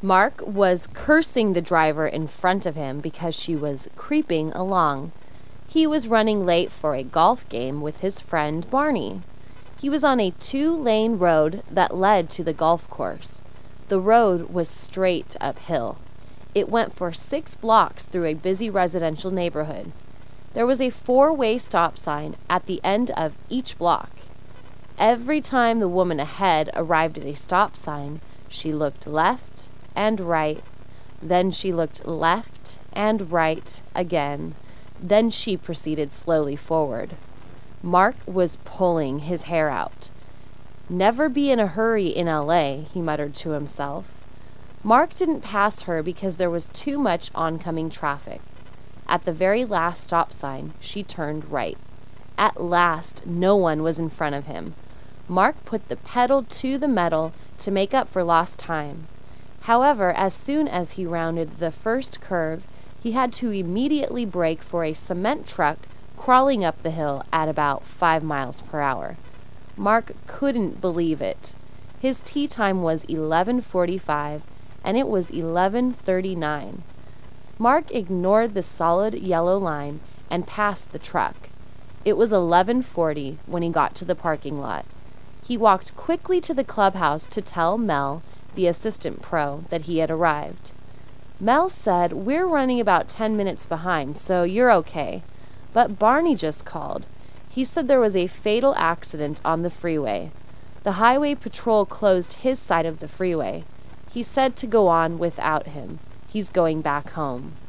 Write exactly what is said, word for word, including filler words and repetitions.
Mark was cursing the driver in front of him because she was creeping along. He was running late for a golf game with his friend Barney. He was on a two-lane road that led to the golf course. The road was straight uphill. It went for six blocks through a busy residential neighborhood. There was a four-way stop sign at the end of each block. Every time the woman ahead arrived at a stop sign, she looked left and right. Then she looked left and right again. Then she proceeded slowly forward. Mark was pulling his hair out. "Never be in a hurry in L A," he muttered to himself. Mark didn't pass her because there was too much oncoming traffic. At the very last stop sign, she turned right. At last, no one was in front of him. Mark put the pedal to the metal to make up for lost time. However, as soon as he rounded the first curve, he had to immediately brake for a cement truck crawling up the hill at about five miles per hour. Mark couldn't believe it. His tee time was eleven forty-five, and it was eleven thirty-nine. Mark ignored the solid yellow line and passed the truck. It was eleven forty when he got to the parking lot. He walked quickly to the clubhouse to tell Mel, the assistant pro, that he had arrived. Mel said, "We're running about ten minutes behind, so you're okay." But Barney just called. He said there was a fatal accident on the freeway. The highway patrol closed his side of the freeway. He said to go on without him. He's going back home.